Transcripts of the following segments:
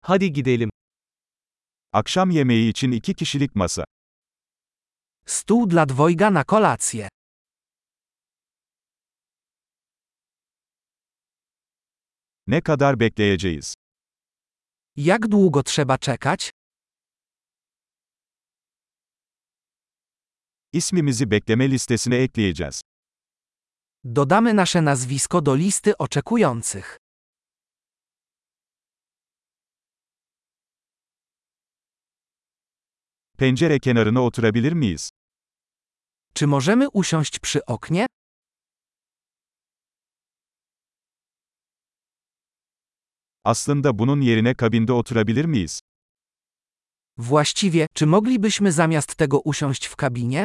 Hadi gidelim. Akşam yemeği için 2 kişilik masa. Stół dla dwojga na kolację. Ne kadar bekleyeceğiz? Jak długo trzeba czekać? İsmimizi bekleme listesine ekleyeceğiz. Dodamy nasze nazwisko do listy oczekujących. Pencere kenarına oturabilir miyiz? Czy możemy usiąść przy oknie? Aslında bunun yerine kabinde oturabilir miyiz? Właściwie, czy moglibyśmy zamiast tego usiąść w kabinie?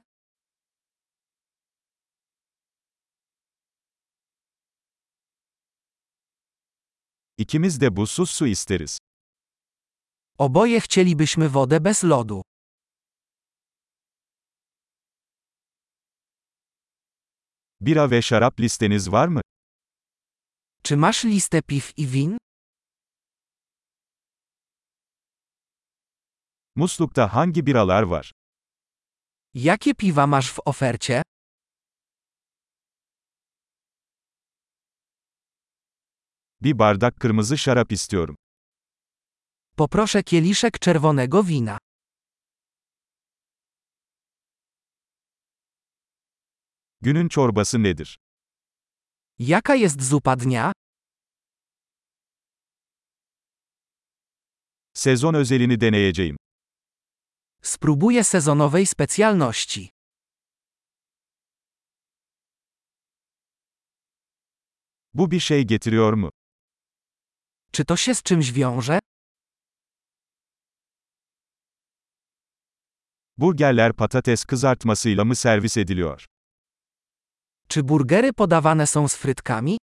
İkimiz de buzsuz su isteriz. Oboje chcielibyśmy wodę bez lodu. Bira ve şarap listeniz var mı? Czy masz listę piw i win? Muslukta hangi biralar var? Jakie piwa masz w ofercie? Bir bardak kırmızı şarap istiyorum. Poproszę kieliszek czerwonego wina. Günün çorbası nedir? Jaka jest zupa dnia? Sezon özelini deneyeceğim. Spróbuję sezonowej specjalności. Bu bir şey getiriyor mu? Czy to się z czymś wiąże? Burgerler patates kızartmasıyla mı servis ediliyor? Czy burgery podawane są z frytkami?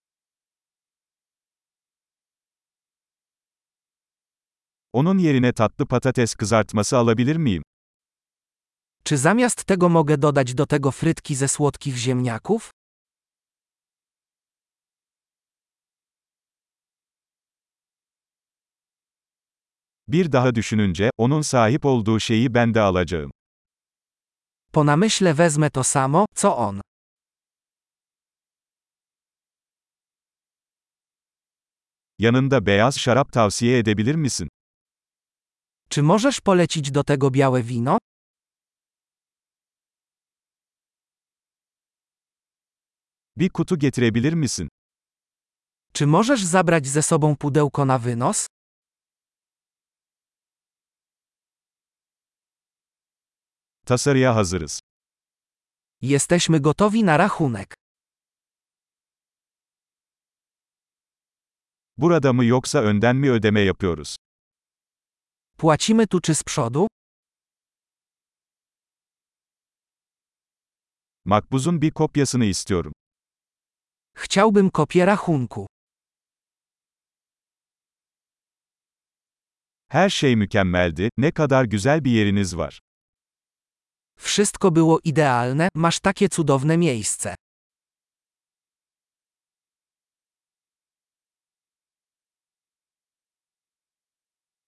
Onun yerine tatlı patates kızartması alabilir miyim? Czy zamiast tego mogę dodać do tego frytki ze słodkich ziemniaków? Bir daha düşününce, onun sahip olduğu şeyi ben de alacağım. Po namyśle wezmę to samo, co on. Yanında beyaz şarap tavsiye edebilir misin? Czy możesz polecić do tego białe wino? Bir kutu getirebilir misin? Czy możesz zabrać ze sobą pudełko na wynos? Tasarıya hazırız. Jesteśmy gotowi na rachunek. Burada mı yoksa önden mi ödeme yapıyoruz? Płacimy tu czy z przodu? Makbuzun bir kopyasını istiyorum. Chciałbym kopię rachunku. Her şey mükemmeldi, ne kadar güzel bir yeriniz var. Wszystko było idealne, masz takie cudowne miejsce.